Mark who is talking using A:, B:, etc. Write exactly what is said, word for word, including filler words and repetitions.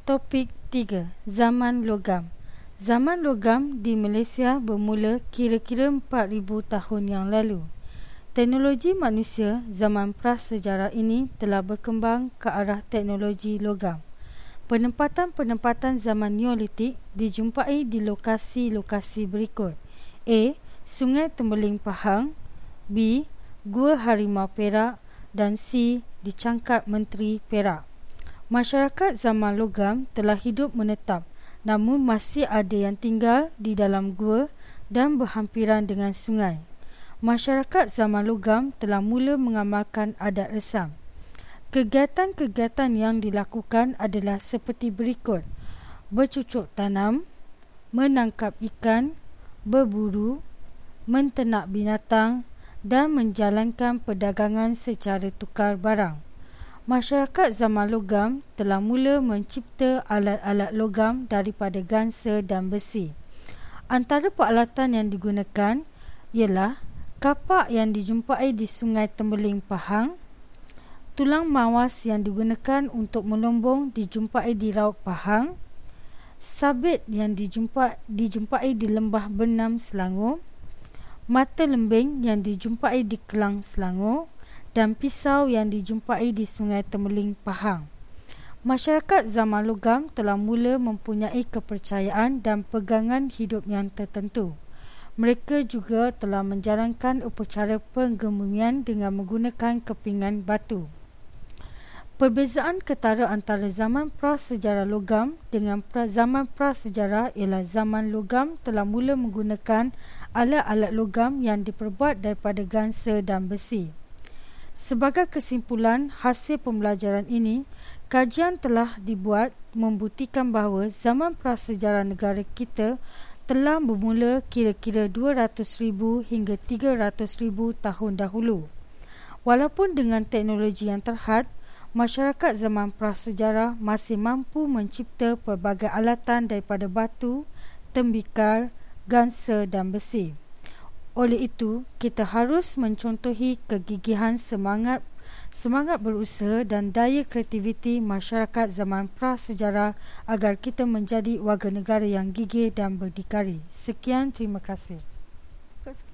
A: Topik tiga. Zaman logam. Zaman logam di Malaysia bermula kira-kira empat ribu tahun yang lalu. Teknologi manusia zaman prasejarah ini telah berkembang ke arah teknologi logam. Penempatan-penempatan zaman Neolitik dijumpai di lokasi-lokasi berikut: A. Sungai Tembeling Pahang, B. Gua Harimau Perak dan C. di Cangkap Menteri Perak. Masyarakat zaman logam telah hidup menetap, namun masih ada yang tinggal di dalam gua dan berhampiran dengan sungai. Masyarakat zaman logam telah mula mengamalkan adat resam. Kegiatan-kegiatan yang dilakukan adalah seperti berikut: bercucuk tanam, menangkap ikan, berburu, menternak binatang dan menjalankan perdagangan secara tukar barang. Masyarakat zaman logam telah mula mencipta alat-alat logam daripada gansa dan besi. Antara peralatan yang digunakan ialah kapak yang dijumpai di Sungai Tembeling Pahang, tulang mawas yang digunakan untuk melombong dijumpai di Raut Pahang, sabit yang dijumpai, dijumpai di Lembah Benam Selangor, mata lembing yang dijumpai di Kelang Selangor dan pisau yang dijumpai di Sungai Tembeling Pahang. Masyarakat zaman logam telah mula mempunyai kepercayaan dan pegangan hidup yang tertentu. Mereka juga telah menjalankan upacara penggemumian dengan menggunakan kepingan batu. Perbezaan ketara antara zaman prasejarah logam dengan pra zaman prasejarah ialah zaman logam telah mula menggunakan alat-alat logam yang diperbuat daripada gansa dan besi. Sebagai kesimpulan hasil pembelajaran ini, kajian telah dibuat membuktikan bahawa zaman prasejarah negara kita telah bermula kira-kira dua ratus ribu hingga tiga ratus ribu tahun dahulu. Walaupun dengan teknologi yang terhad, masyarakat zaman prasejarah masih mampu mencipta pelbagai alatan daripada batu, tembikar, gansa dan besi. Oleh itu, kita harus mencontohi kegigihan semangat semangat berusaha dan daya kreativiti masyarakat zaman prasejarah agar kita menjadi warga negara yang gigih dan berdikari. Sekian, terima kasih.